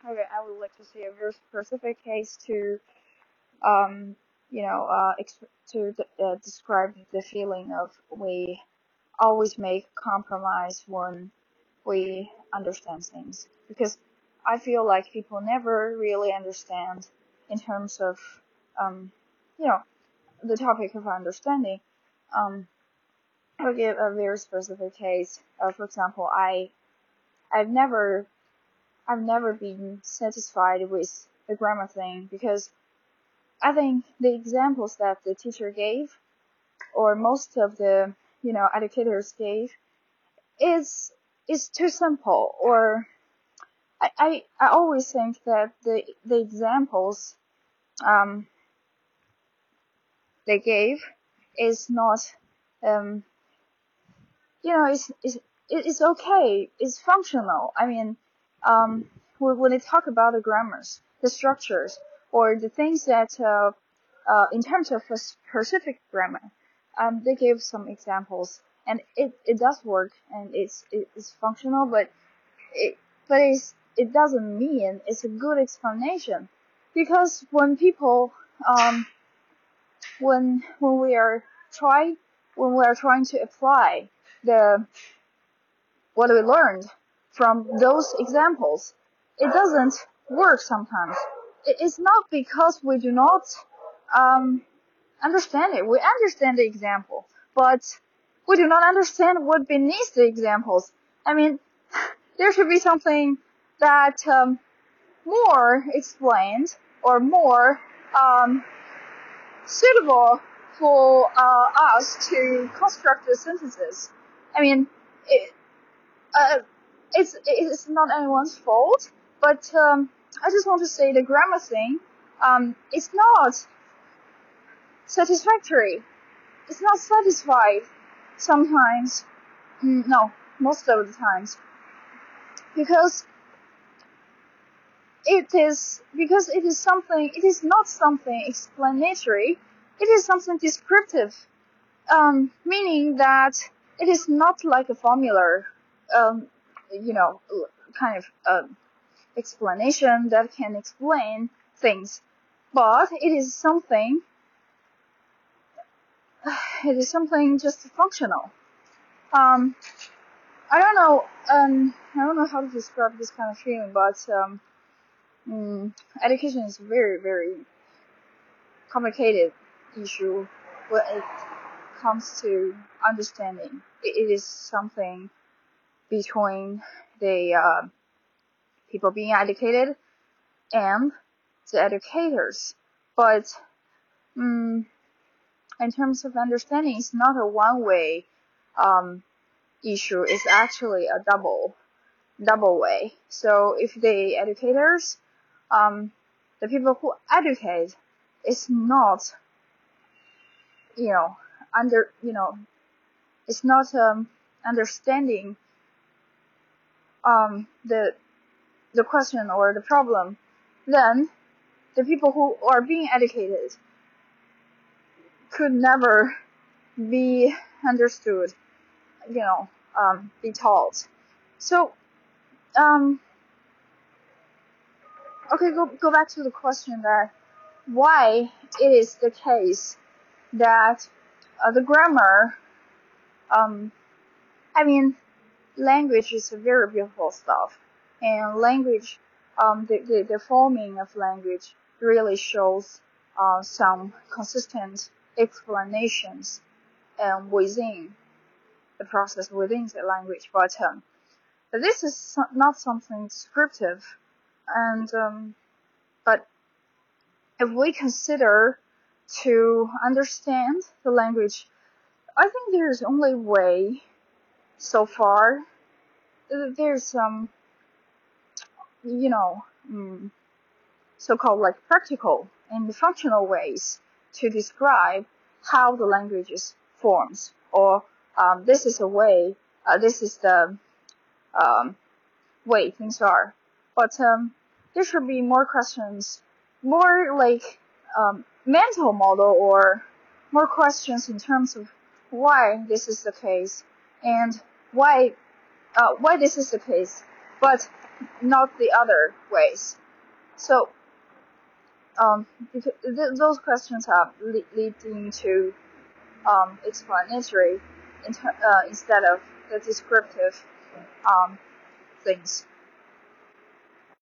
Okay, I would like to see a very specific case to, um, describe the feeling of we always make compromise when we understand things. Because I feel like people never really understand in terms of, um, you know, the topic of understanding. Um, I'll give a very specific case. For example, I've never I've never been satisfied with the grammar thing because I think the examples that the teacher gave or most of the educators gave is too simple, or I always think that the examples um they gave is not um it's okay, it's functional. I mean, um when they talk about the grammars, the structures, or the things that in terms of a specific grammar, they gave some examples, and it does work, and it's functional, but it it doesn't mean it's a good explanation, because when people when we are trying to apply the what we learned from those examples, it doesn't work sometimes. It's not because we do not um, understand it. We understand the example, but we do not understand what beneath the examples. I mean, there should be something that more explained or more suitable for us to construct the sentences. I mean, it, uh, it's not anyone's fault, but I just want to say the grammar thing. It's not satisfactory. It's not satisfied sometimes. No, most of the times, because it is something. It is not something explanatory. It is something descriptive. Meaning that it is not like a formula. Um, you know, kind of explanation that can explain things, but it is something just functional. Um, I don't know how to describe this kind of feeling, but education is a very, very complicated issue when it comes to understanding. It is something between the people being educated and the educators. But in terms of understanding, it's not a one-way issue. It's actually a double way. So if the educators, the people who educate, is not, you know, under, you know, it's not understanding the question or the problem, then the people who are being educated could never be understood, be taught. So, okay, go back to the question that why it is the case that the grammar, I mean, language is a very beautiful stuff, and language, the forming of language really shows some consistent explanations within the process within the language, but this is not something descriptive, and but if we consider to understand the language, I think there's only way so far. There's some, you know, so-called like practical and functional ways to describe how the languages forms, or this is a way, this is the way things are. But there should be more questions, more like mental model, or more questions in terms of why this is the case and why this is the case. But not the other ways. So those questions are leading to explanatory instead of the descriptive things.